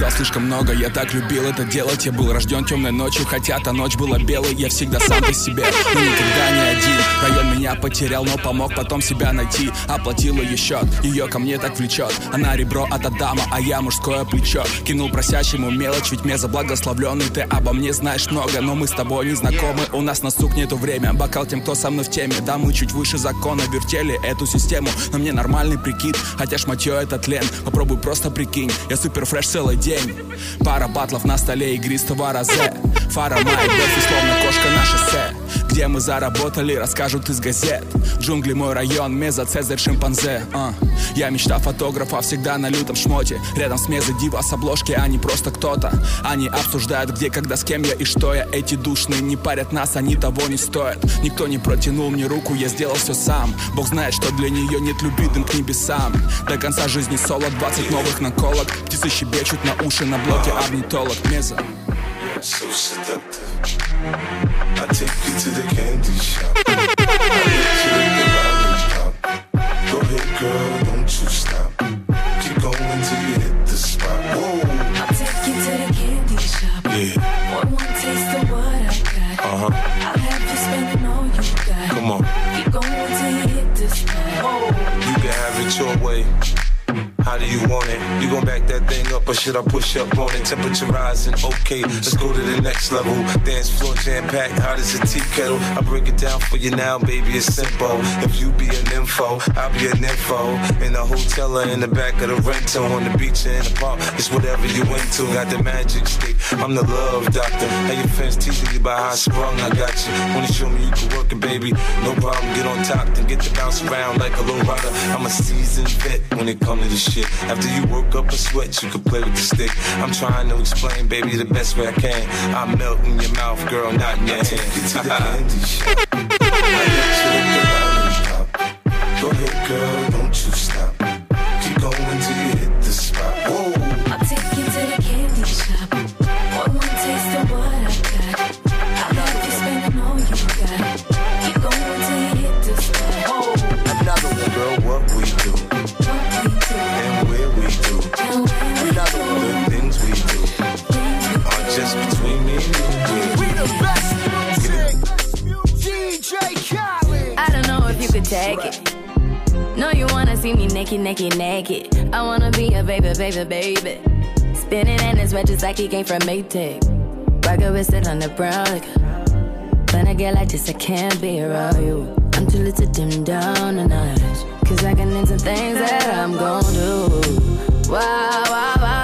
потерял слишком много. Я так любил это делать, я был рожден темной ночью. Хотя та ночь была белой, я всегда сам по себе, но никогда не один. Район меня потерял, но помог потом себя найти. Оплатил ее счет, ее ко мне так влечет. Она ребро от Адама, а я мужское плечо. Кинул просящему мелочь, ведь мне заблагословленный. Ты обо мне знаешь много, но мы с тобой не знакомы. У нас на стук нету время, бокал тем, кто со мной в теме. Да, мы чуть выше закона, вертели эту систему. Но мне нормальный прикид, хотя шматье это тлен. Попробуй просто прикинь, я супер фреш целый день. Пара батлов на столе игристого розе. Фара моя бэфи, словно кошка на шоссе. Где мы заработали, расскажут из газет. Джунгли мой район, меза, цезарь, шимпанзе. Я мечта фотографа, всегда на лютом шмоте. Рядом с мезой дива с обложки, а не просто кто-то. Они обсуждают где, когда, с кем я и что я. Эти душные не парят нас, они того не стоят. Никто не протянул мне руку, я сделал все сам. Бог знает, что для нее нет любви, дым к небесам. До конца жизни соло, 20 новых наколок. Птицы щебечут на уши, на блоке орнитолог. Меза. So seductive. I take you to the candy shop. I let you lick the lollipop. Go ahead, girl, don't you stop. Keep going till you hit the spot. Whoa. I'll take you to the candy shop. Yeah. Want one taste of what I got. I'll have you spending all you got. Come on. Keep going till you hit the spot. Whoa. You can have it your way. How do you want it? You gon' back that thing up or should I push up on it? Temperature rising, okay, let's go to the next level. Dance floor jam-packed, hot as a tea kettle. I break it down for you now, baby, it's simple. If you be an info, I'll be an info. In the hotel or in the back of the rental, on the beach or in the park, it's whatever you into. Got the magic stick, I'm the love doctor. How your fans teasing you about how I sprung, I got you. Wanna show me you can work it, baby? No problem, get on top, then get to bounce around like a low rider. I'm a seasoned vet when it comes to this shit. After you work up a sweat, you can play with the stick. I'm trying to explain, baby, the best way I can. I melt in your mouth, girl, not in your hand. Take you to the candy shop. I let you lick the lollipop. Go ahead, girl, don't you stop. Keep going till you hit the spot. Whoa. I'll take you to the candy shop. Want one taste of what I got. I'll have you spending all you got. Keep going till you hit the spot. Whoa. Another one, girl, what we do. And where we do. The things we do are just between me and you. We the best music. DJ Khaled. I don't know if you could take it. No, you wanna see me naked, naked, naked. I wanna be a baby, baby, baby. Spinning in his red just like he came from Maytag. Rocket with it on the brown liquor. When I get like this, I can't be around you. I'm too little to dim down a notch. Cause I can into things that I'm gon' do. Wow, wow, wow.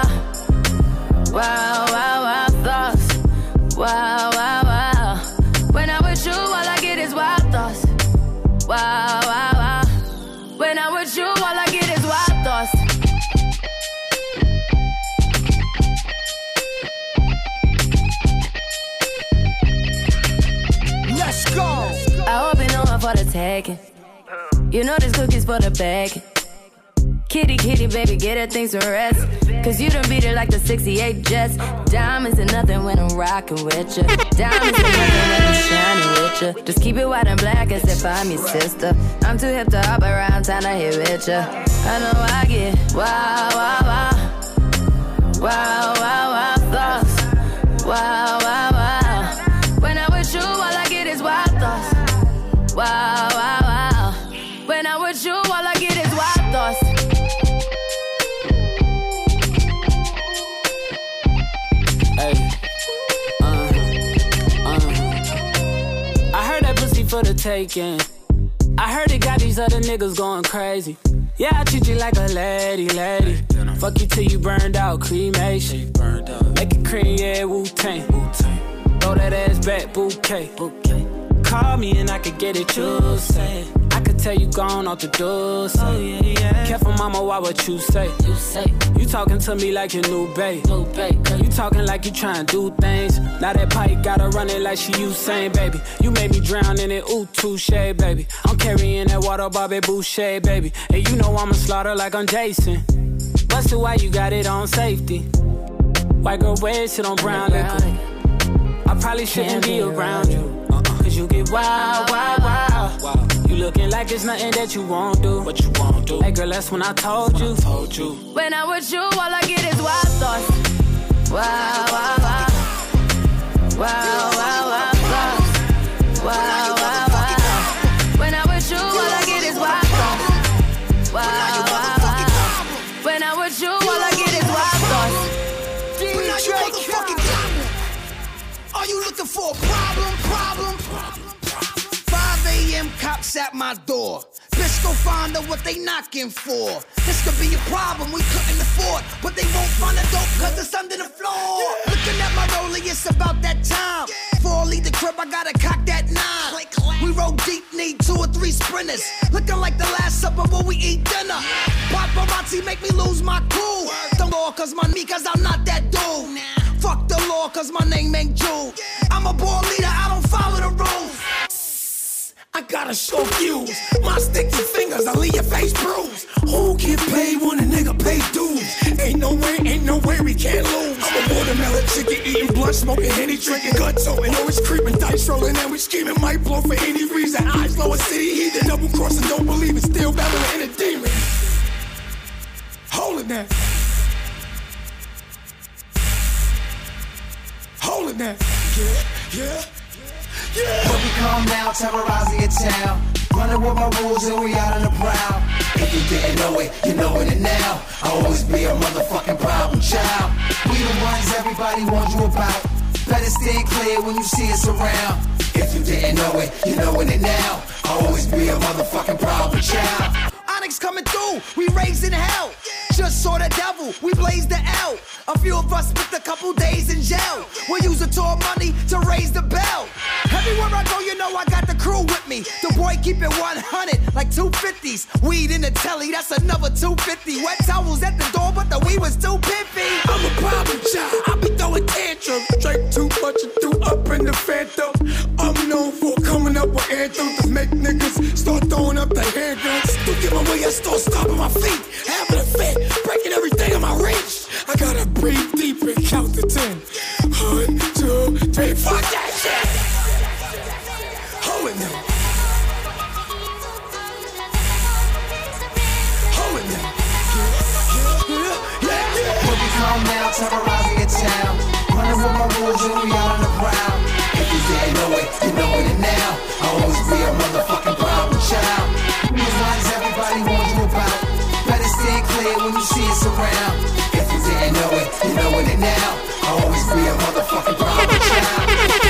Wow, wow, wow, thoughts. Wow, wow, wow. When I'm with you, all I get is wild thoughts. Wow, wow, wow. When I'm with you, all I get is wild thoughts. Let's go. I hope you know I'm for the taking. You know this cookie's for the bag. Kitty, kitty, baby, get her things to rest. Cause you done beat her like the 68 Jets. Diamonds are nothing when I'm rockin' with ya. Diamonds are nothing when I'm shining with ya. Just keep it white and black as if I'm your sister. I'm too hip to hop around town to hit with ya. I know I get wow, wow, wow. Wow, wow, wow, thoughts. Wow, wow, wow. When I'm with you, all I get is wild thoughts. Wow, wow, wow. When I'm with you, all I get is wild thoughts. Hey, I heard that pussy for the taking. I heard it got these other niggas going crazy. Yeah, I treat you like a lady, lady. Fuck you till you burned out, cremation. Make it cream, yeah, Wu-Tang. Throw that ass back, bouquet. Call me and I could get it, you say. I could tell you gone off the door, say. Oh, yeah, yeah. Careful, mama, why what you say? You talking to me like your new babe. You talking like you trying to do things. Now that pipe gotta run it like she Usain, baby. You made me drown in it, ooh, touche, baby. I'm carrying that water, Bobby Boucher, baby. And you know I'ma slaughter like I'm Jason. Busted, why you got it on safety? White girl wear shit on brown liquor. I probably shouldn't be around you. Cause you get wild, wild, wild. You looking like it's nothing that you won't do. What you won't do. Hey girl, that's when I told you. When I'm with you, all I get is wild thoughts. knocks at my door. Bitch, go find out what they knocking for. This could be a problem we couldn't afford, but they won't find a dope cause it's under the floor. Looking at my rollie, it's about that time. Before I leave the crib, I gotta cock that 9. We roll deep, need 2 or 3 sprinters. Looking like the last supper when we eat dinner. Paparazzi make me lose my cool. Don't go cause my me, cause I'm not that dude. Fuck the law cause my name ain't Jude. I'm a ball leader, I don't follow the rules. I gotta show views. My sticky fingers, I leave your face bruised. Who get paid when a nigga pay dues? Ain't no way we can't lose. I'm a watermelon chicken, eating blunt, smoking Henny, drinking guts open. Always creeping, dice rolling, and we scheming. Might blow for any reason. Eyes low, a city heathen, double crossing, don't believe it. Still battling in a demon. Hold it now. Hold it now. Yeah. But we come now, terrorizing your town. Running with my rules and we out on the prowl. If you didn't know it, you know it now. I'll always be a motherfucking problem child. We the ones everybody warns you about. Better stay clear when you see us around. If you didn't know it, you know it now. I'll always be a motherfucking problem child. Onyx coming through, we raising hell. Just saw the devil, we blazed the L. A few of us spent a couple days in jail. We use the tour money to raise the bell. Everywhere I go, you know I got the crew with me. The boy keep it 100, like 250s. Weed in the telly, that's another 250. Wet towels at the door, but the weed was too pimpy. I'm a problem child, I be throwing tantrums. Drink too much and threw up in the phantom. I'm known for coming up with anthems to make niggas start throwing up their handguns. To give away, I start stomping my feet. Having a fit, breaking everything in my reach. I gotta breathe deep and count to 10. 1, 2, 3, fuck that shit. Hold it now. Hold it now. But we come now, terrorizing your town. Running with my rules and we out on the prowl. If you didn't know it, you know it now. I'll always be a motherfucking problem child. These lines everybody warns you about. Better stay clear when you see us around. If you didn't know it, you know it now. I'll always be a motherfucking problem child.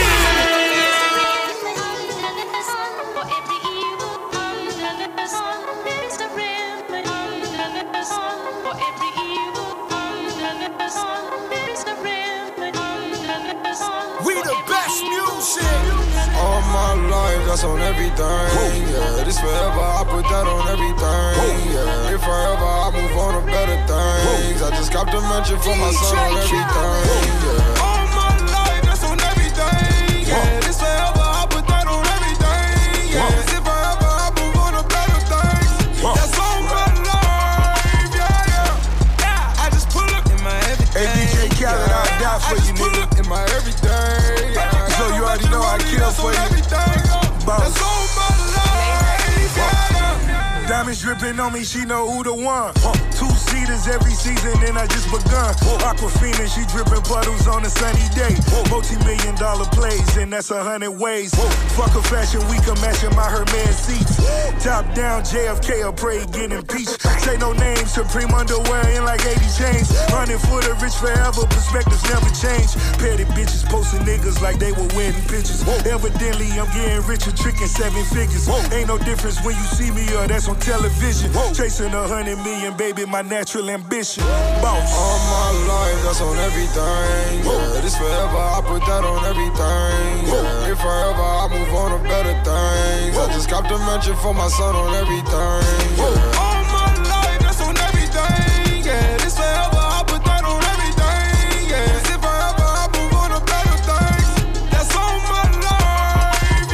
We the best music. All my life, that's on everything. Yeah, this forever, I put that on everything. Yeah, if forever, I move on to better things. I just copped a mansion for my son on everything. Yeah, all my life, that's on everything. Yeah, this forever, I put that on everything. Yeah, if forever, I move on to better things. That's all my life. Yeah. I just pull up in my everything. Hey, DJ Khaled, I'll die for you, nigga. In my everything. So you already know I kill for you. That's all my life. Diamonds dripping on me, she know who the one. 2-seaters every season, and I just begun. Aquafina, she dripping puddles on a sunny day. Multi-million-dollar plays, and that's 100 ways. Fuck a fashion week, I'm matching my Hermes seats. Top down, JFK, I pray get impeached. Say no names, Supreme underwear in like 80 chains. 100 for the rich forever, perspectives never change. Petty bitches posting niggas like they were wedding pictures. Evidently, I'm getting richer, tricking 7 figures. Ain't no difference when you see me or that's on television. Chasing 100 million, baby, my natural ambition. Boss. All my life, that's on everything. Yeah, this forever, I put that on everything. Yeah, if forever, I move on to better things. I just copped a mansion for my son on everything. Yeah, all my life, that's on everything. Yeah, this forever, I put that on everything. Yeah, if forever, I move on to better things. That's all my life.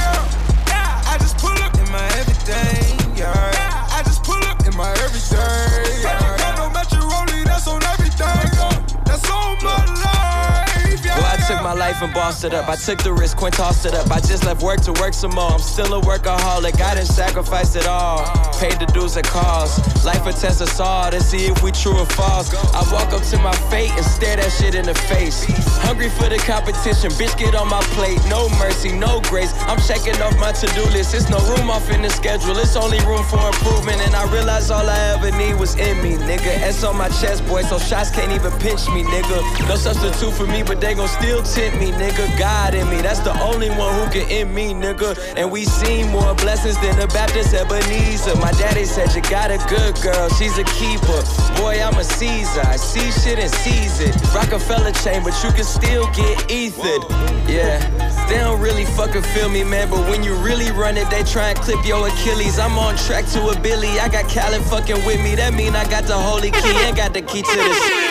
Yeah. I just pull up in my everything. I just pull up in my everything. Got no Metro Rollie, that's on everything. That's on my life. Well, I took my life and bossed it up. I took the risk, Quinn tossed it up. I just left work to work some more. I'm still a workaholic, I didn't sacrifice it all. Paid the dues it cost. Life will test us all to see if we true or false. I walk up to my fate and stare that shit in the face. Hungry for the competition, bitch, get on my plate. No mercy, no grace. I'm checking off my to-do list. It's no room off in the schedule. It's only room for improvement. And I realized all I ever need was in me, nigga. S on my chest, boy, so shots can't even pinch me, nigga. No substitute for me, but they gon' still tint in me, nigga. God in me, that's the only one who can end me, nigga. And we seen more blessings than the Baptist Ebenezer. My daddy said you got a good girl, she's a keeper. Boy, I'm a Caesar, I see shit and seize it. Rockefeller chain, but you can still get ethered. Yeah, they don't really fucking feel me, man. But when you really run it, they try and clip your Achilles. I'm on track to a Billy, I got Callan fucking with me. That mean I got the holy key and got the key to the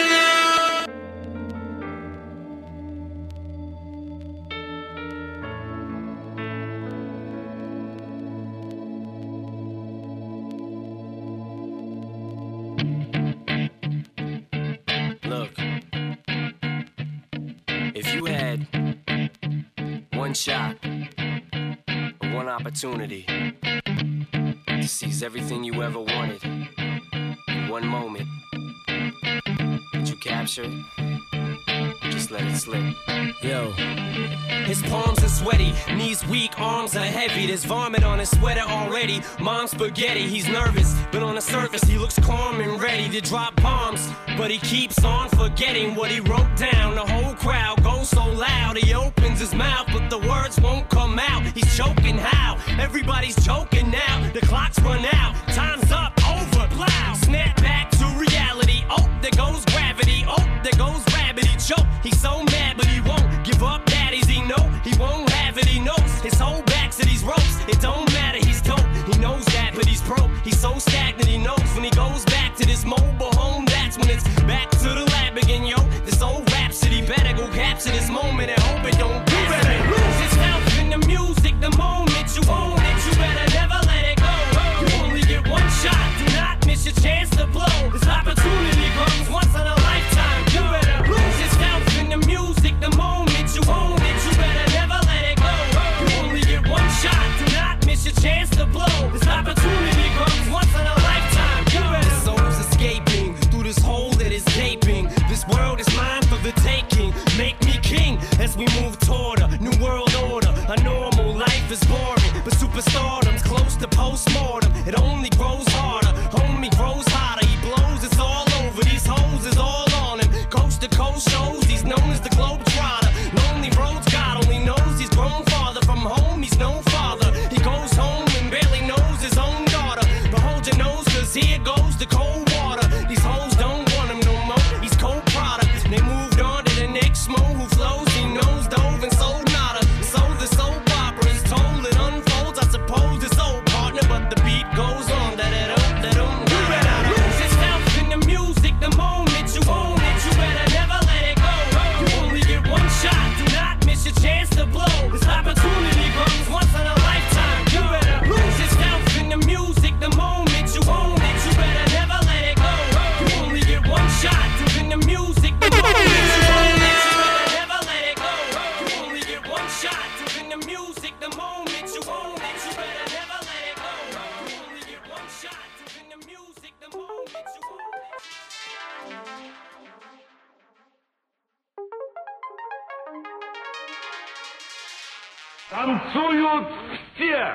shot, one opportunity to seize everything you ever wanted in one moment. Did you capture it? Just let it slip. Yo. His palms are sweaty, knees weak, arms are heavy. There's vomit on his sweater already. Mom's spaghetti, he's nervous, but on the surface he looks calm and ready to drop bombs. But he keeps on forgetting what he wrote down. The whole crowd goes so loud, he opens his mouth, but the words won't come out. He's choking how? Everybody's choking now. The clock's run out, time's up, over, plow. Snap back to reality. Oh, there goes gravity. Oh, there goes rabbit. He choke. He's so mad, but he won't give up. Daddies, he know he won't have it. He knows his whole back to these ropes. It don't matter. He's dope. He knows that, but he's broke. He's so stagnant. He knows when he goes back to this mobile home. That's when it's back to the lab again, yo. This old rhapsody better go capture this moment and hope it don't. You better lose yourself in the music the moment you own it. You better never let it go. You only get one shot. Do not miss your chance to blow. This opportunity comes once in a lifetime. You better lose yourself in the music the moment you own it. You better never let it go. You only get one shot. Do not miss your chance to blow. This opportunity comes once in a lifetime. You better. The soul's escaping through this hole that is gaping. This world is mine for the taking. Make me king as we move toward a new world order. A normal life is boring, but superstardom's close to postmortem. It only grows harder, homie grows hotter. He blows, it's all over. These hoes is all on him. Coast to coast shows, he's known as the Globetrotter. Lonely roads, God only knows he's grown farther from home. He's no father. He goes home and barely knows his own daughter. But hold your nose, cause here goes the cold water. These hoes don't want him no more. He's cold product. They moved on to the next mo who flows. He knows dove and sold nada. So the soap opera is told, it unfolds. I suppose it's old partner, but the beat goes on. You better lose yourself in the music the moment you own it. You better never let it go. You only get one shot. Do not miss your chance to blow. This opportunity comes once in a lifetime. You better lose yourself in the music the moment you own it. You better never let it go. You only get one shot. In the music the moment you own it. You better never let it go. You only get one shot. In the music the moment you own it. You better never let it go. You only get one shot. In the music the moment you own it. Танцуют все!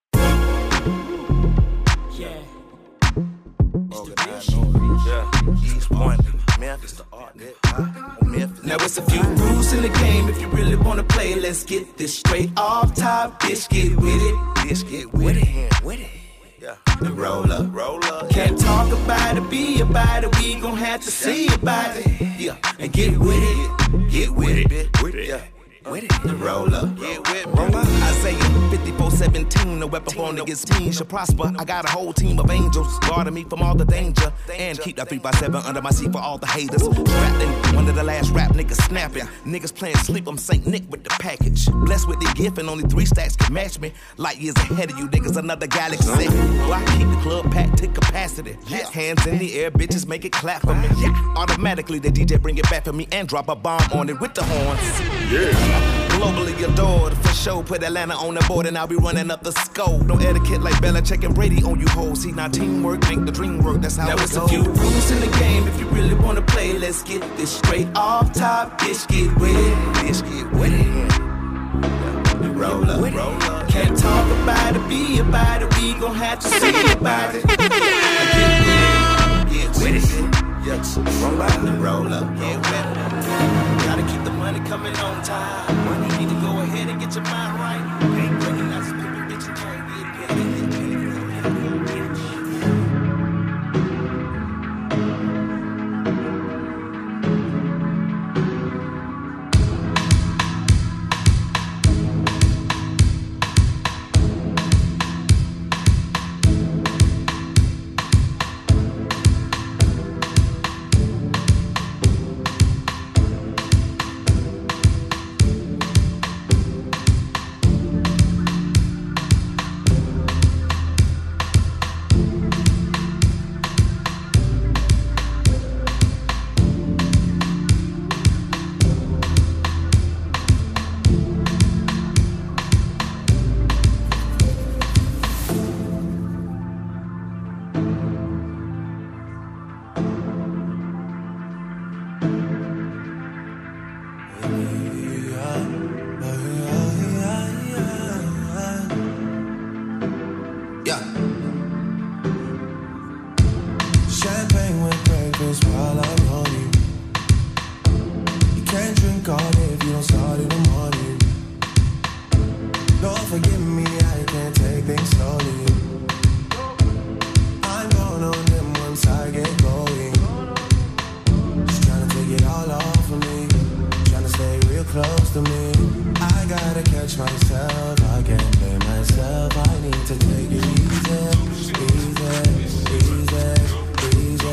Now it's a few rules in the game if you really wanna play. Let's get this straight off top, bitch. Get with it, bitch. Get with it, with it. Yeah, the roll up. Can't talk about it, be about it. We gon' have to see about it. Yeah, and get with it, get with it, bitch. Yeah. With it, the roll up. Roll up. Isaiah 54:17, no weapon born against me shall prosper. I got a whole team of angels guarding me from all the danger. And keep that 3x7 under my seat for all the haters. Strapped in one of the last rap niggas snapping. Niggas playing sleep, I'm St. Nick with the package. Blessed with the gift and only 3 stacks can match me. Light years ahead of you niggas, another galaxy. Well, I keep the club packed to capacity. Hands in the air, bitches make it clap for me. Automatically the DJ bring it back for me and drop a bomb on it with the horns. Yeah. Globally adored, for sure. Put Atlanta on the board and I'll be running up the score. No etiquette like Belichick and Brady on you hoes. See, now teamwork make the dream work. That's how it goes. Now it's a few rules in the game if you really wanna play. Let's get this straight off top. Bitch, get with it. Bitch, get with it. Roll up. Can't talk about it, be about it. We gon' have to see about it. Get with it. Roll up. Get with it. Gotta keep the money coming on. call if you don't start in the morning. Lord, forgive me, I can't take things slowly. I'm going on them once I get going. Just trying to take it all off of me. Trying to stay real close to me. I gotta catch myself, I can't blame myself. I need to take it easy, easy, easy, easy,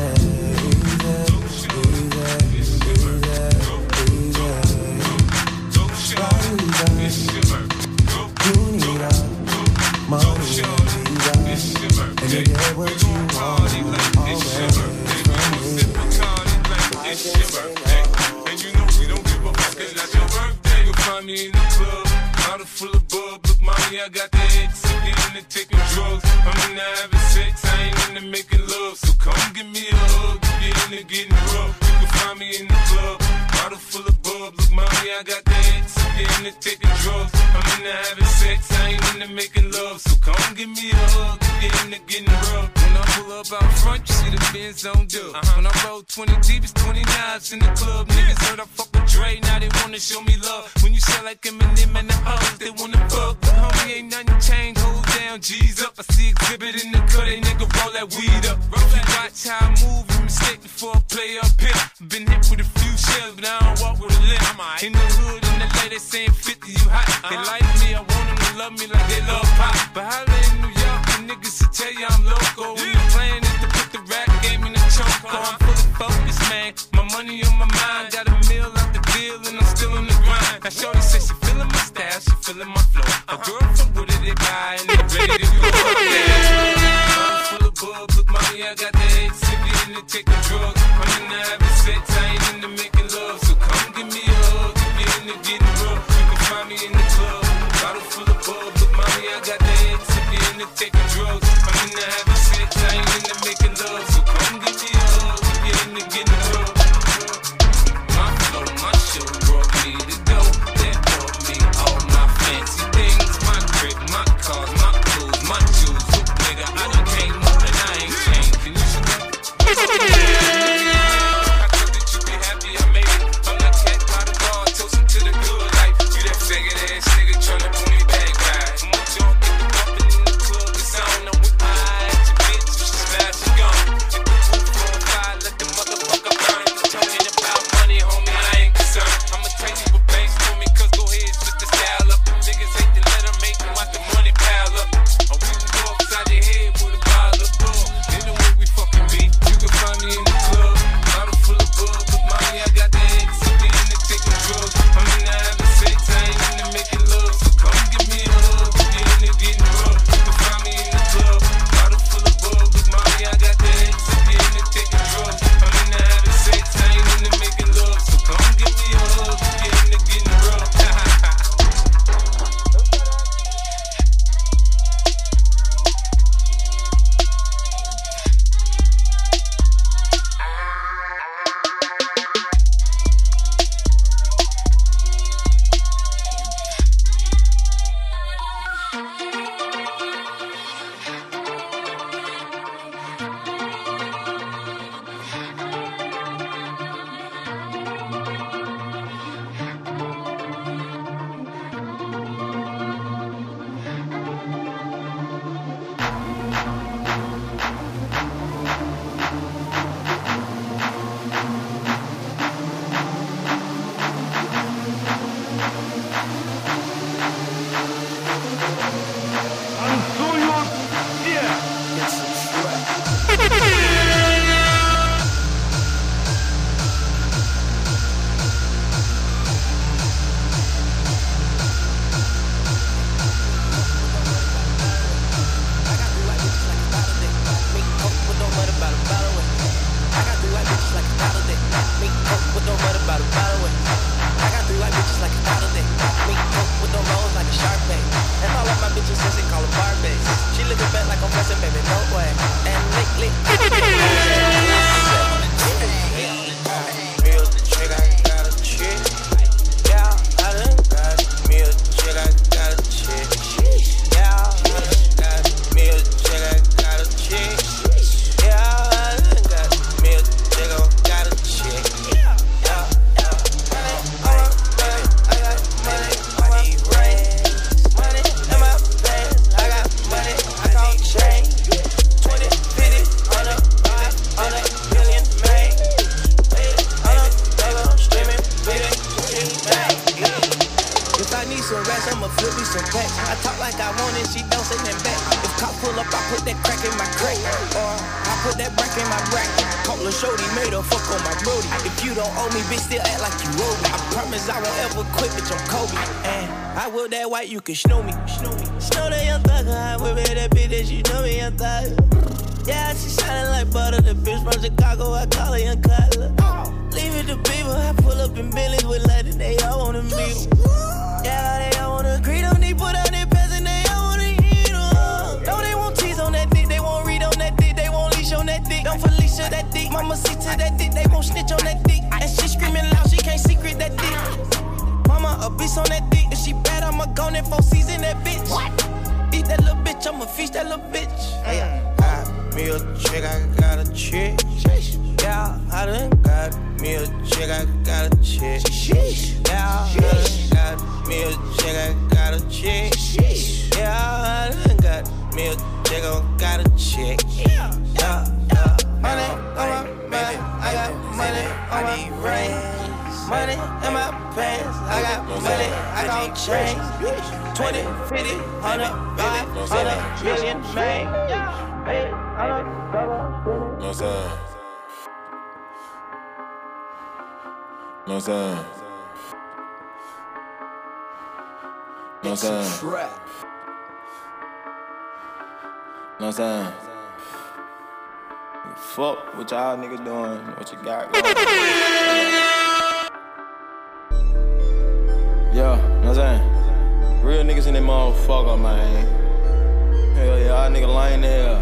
Me in the club, bottle full of bub. Look, mommy, I got the X. I'm into taking drugs. I'm into having sex. I ain't into making love. So come give me a hug. Get into getting rough. You can find me in the club, bottle full of bub. Look, mommy, I got the X. I'm into taking drugs. I'm into having sex. I ain't into making love. So come give me a hug. Get into getting rough. When I pull up out front, you see the Benz on dub. When I roll 20 deep, it's 29s in the club. Niggas heard I fuck with Dre, now they wanna show me love. When you sell like Eminem and the hoes, they wanna fuck. But homie, ain't nothing changed, hold down, G's up. I see exhibit in the cut, they nigga roll that weed up. You watch how I move, you mistake before I play up here. Been hit with a few shells, but I don't walk with a limp. In the hood, in the lady saying 50, you hot. They like me, I want them to love me like they love pop. But holla in New York, the niggas will tell you I'm loco. When the plan is to put the rap game in the choke. I'm fully focused, man. My money on my mind, got a meal out the deal, and I'm still on the grind. Now shorty says she feeling my style, she feeling my flow. A girl from Wooded, they buy, and they ready to do it. I'm full of bub, look, mommy, I got the X. If you into taking drugs, I'm into having sex, I ain't into making love. So come give me a hug, if you into getting rough. You can find me in the club, bottle full of bub. Look, mommy, I got the X. If you into taking drugs, I'm into having sex, I ain't into making love. So come give me a hug, if you into getting rough. some packs. I talk like I want it, she don't say nothing back. If cop pull up, I put that crack in my crack. Or I put that brack in my brack. Call a shorty, made her fuck on my brody. If you don't owe me, bitch, still act like you owe me. I promise I won't ever quit, bitch, I'm Kobe. And I whip that white, you can snow me. Snow that young thugger, I whip that bitch that you know me, young thugger. Yeah, she shining like butter. The bitch from Chicago, I call her Young Cutler. Leave it to people, I pull up in Billy's with London, they all wanna meet. Yeah, they all wanna agree, don't need put out their pants and they all wanna eat them. No, they won't tease on that dick, they won't read on that dick, they won't leash on that dick. Don't Felicia that dick, mama see to that dick, they won't snitch on that dick. And she screaming loud, she can't secret that dick. Mama a beast on that dick, if she bad, I'ma go in 4 season that bitch. What? Eat that little bitch, I'ma feast that little bitch. Me a chick, I got a chick. Yeah, I done got me a chick, I got a chick. Yeah, I done got me a chick, I got a chick. Yeah, I done got me a chick, I got a chick. Yeah. Money on my back, I got money on my brain. Money in my pants, I got money, I got change. 20, 50, 100, 500 million, man. No son. No son. No son. No son. Fuck what y'all niggas doing, what you got going. Yo, know what I'm saying? Real niggas in that motherfucker, man. Hell yeah, y'all niggas lying there.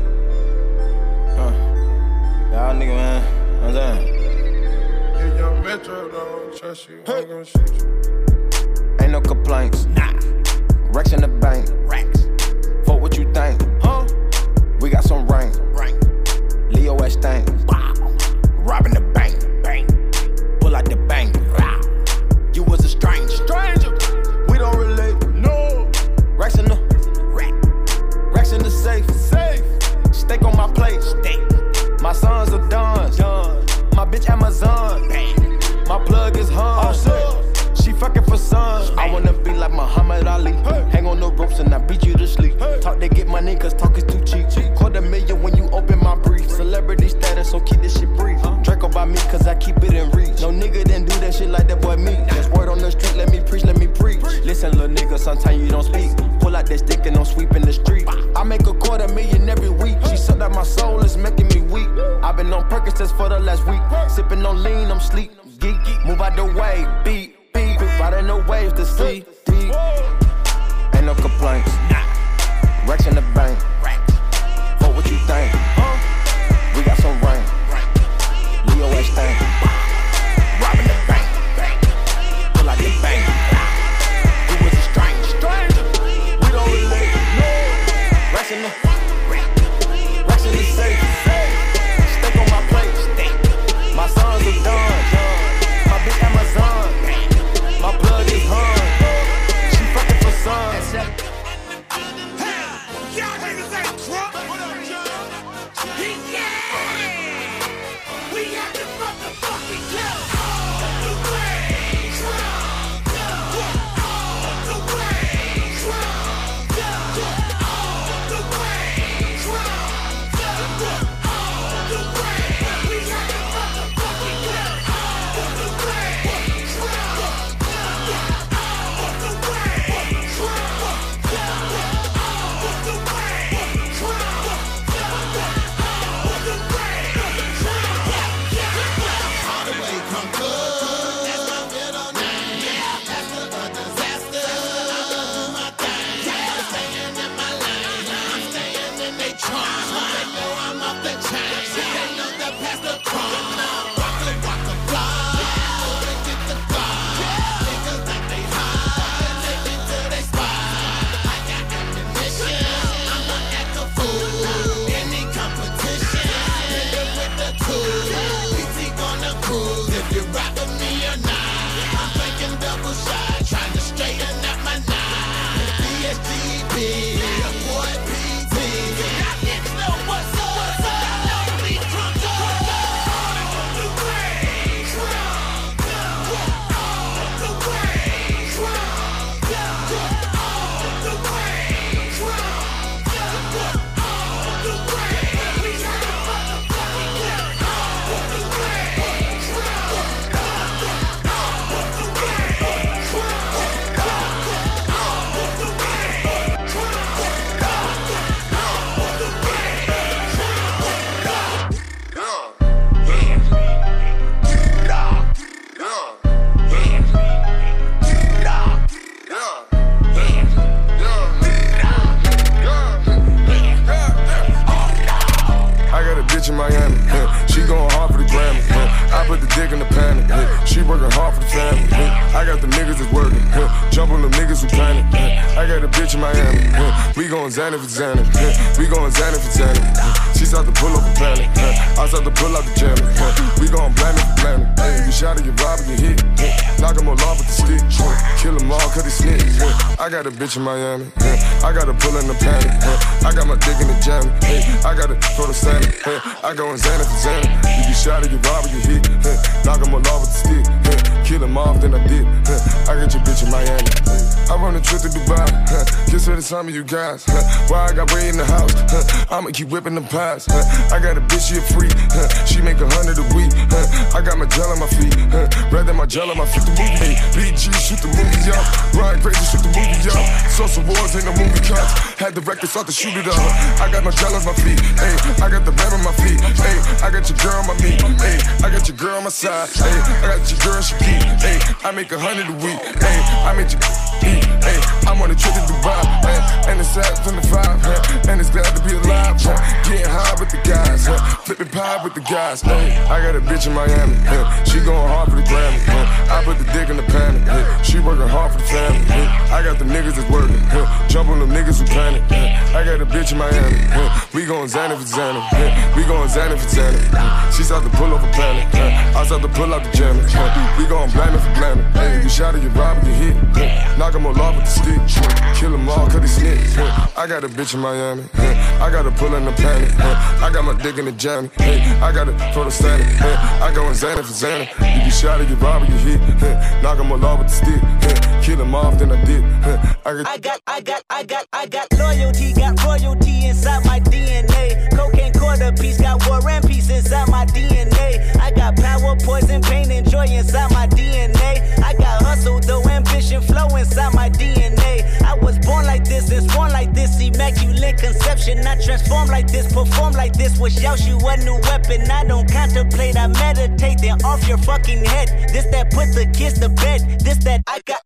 Y'all nigga, man. Know what I'm saying? Yeah, young Metro don't trust you. I'm gonna shoot you. Ain't no complaints. Nah. Racks in the bank. Racks. Fuck what you think. Huh? We got some rain. Leo S. Stank. Robbing the bank. Bang. Pull out the bank. You was a stranger. We don't relate. No. Racks in the Racks in the safe. Steak on my plate. My sons are done. My bitch Amazon. My plug is Hun. She fucking for sun. I wanna be like Muhammad Ali. Hang on the ropes and I beat you to sleep. Talk to get money cause talk is too cheap. $250,000 when you open my brief. Celebrity status, so keep this shit brief. Draco by me cause I keep it in reach. No nigga didn't do that shit like that boy me. There's word on the street, let me preach. Listen little nigga, sometimes you don't speak. Pull out that stick and don't sweep in the street. I make $250,000 every week. She sucked out my soul, it's making me weak. I've been on Percocets for the last week. Sipping on lean, I'm sleep. Geek, move out the way, beat. Riding the waves to see deep. Ain't no complaints. Racks in the bank. Fuck what you think. We got some rain. Leo S. Stank. Robbing the bank. Pull out the bank. We was a stranger. We don't relate. Racks in the safe. Steak on my plate. My sons are done. My bitch Amazon. My blood is Hun. She fucking for sun. Y'all niggas ain't drunk. Yeah. We have to motherfucking kill all the way drunk. All the way drunk. All the way drunk. All the way. We have to motherfucking kill all the way drunk. working hard for the family. I got the niggas that's working. Jump on them niggas who panic. I got a bitch in Miami. We going Xanny for Xanny. We going Xanny for Xanny. She start to pull up a planet. I start to pull out the jammer. We gon' blame it for blaming. You shot it, you rob it, you hit. Knock him all off with the stick. Kill them all cause they snitch. I got a bitch in Miami. I gotta pull in the panic. I got my dick in the jam. I gotta throw the sand. I go in Xanny for Xanny. You get shot it, you rob it, you hit. Knock him all off with the stick. Kill him off, then I did. I got your bitch in Miami. I run a trip to Dubai. Kiss her the time of you guys. Why I got way in the house? I'ma keep whipping them pies. I got a bitch, she a freak. She make 100 a week. I got my gel on my feet. Rather my gel on my feet. The movie. BG, shoot the movie up. Ryan Crazy, shoot the movie up. Social Wars ain't no movie cuts. Had the record, start to shoot it up. I got my gel on my feet. Ay, I got the bed on my feet. Ay, I got your girl on my meat. Ay, I got your girl on my side. Ay, I got your girl, she geek. Ay, I make 100 a week. Ay, I make you eat. Ay, I'm on a trip to Dubai. Ay, and it's at 25. And it's glad to be alive. Getting high with the guys. Flipping pie with the guys. Ay, I got a bitch in Miami. She going hard for the Grammy. I put the dick in the panic. She working hard for the family. I got the niggas that's working. Jump on them niggas who panic. I got a bitch in Miami. We going Xanny for Xanny. We going Xanny for Xanny. She start to pull up a planet. I start to pull out the jammer. We gon' blame it for blaming. You shot it, you rob it, you hit. Knock him all off with the stick. Kill them all cause they snitch. I got a bitch in Miami. I gotta pull in the panic. I got my dick in the jammy. I gotta throw the standard. I go in Xanny for Xanny. You get shot it, you rob it, you hit. Knock him all off with the stick. Kill him off, then I did. I got loyalty, got royalty inside my DNA. Cocaine quarter piece, got war and peace inside my DNA. I got power, poison, pain, and joy inside my DNA. I got hustle, though ambition, flow inside my DNA. I was born like this and sworn like this, immaculate conception. I transform like this, perform like this, wish out you a new weapon. I don't contemplate, I meditate, then off your fucking head. This that put the kids to bed. This that I got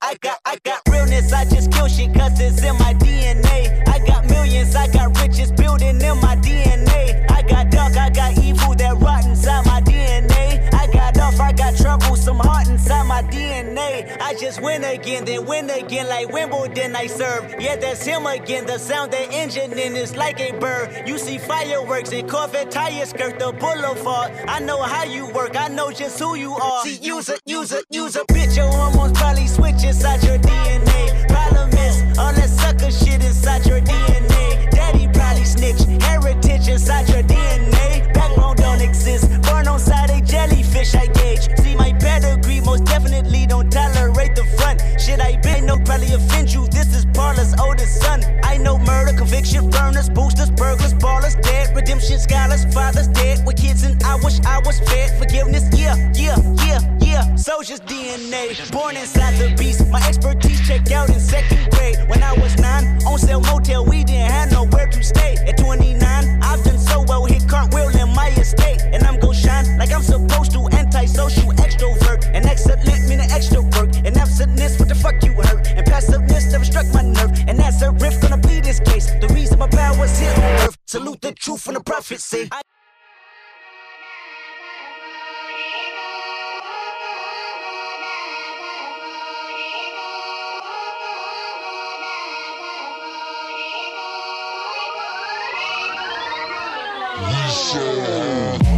realness. I just kill shit cause it's in my DNA. I got millions, I got riches building in my DNA. I got dark, I got evil that rot inside my DNA. I got off, I got trouble, some heart inside my DNA. I just win again, then win again like Wimbledon I serve. Yeah, that's him again, the sound that engine in is like a bird. You see fireworks and Corvette tires skirt the boulevard. I know how you work, I know just who you are. See, use a bitch, your hormones probably switch inside your DNA. Problem is, all that sucker shit inside your DNA. Daddy probably snitch, heritage inside your DNA. Backbone don't exist, born on side a jellyfish I gauge. See my pedigree, most definitely don't tolerate the front. Shit I been no probably offend you, this is Parla's oldest son. I know murder, conviction, burners, boosters, burglars, ballers, dead, redemption, scholars, fathers dead with kids and I wish I was fed. Forgiveness, yeah. Soldier's DNA, born inside the beast. My expertise checked out in second grade. When I was 9, on sale motel, we didn't have nowhere to stay. At 29, I've done so well, hit cartwheel in my estate. And I'm gon' shine like I'm supposed to, antisocial extrovert. And excellent meaning extra work. And absentness, what the fuck you hurt? And passiveness never struck my nerve. And that's a riff, gonna plead this case. The reason my power's here on earth. Salute the truth and the prophecy. We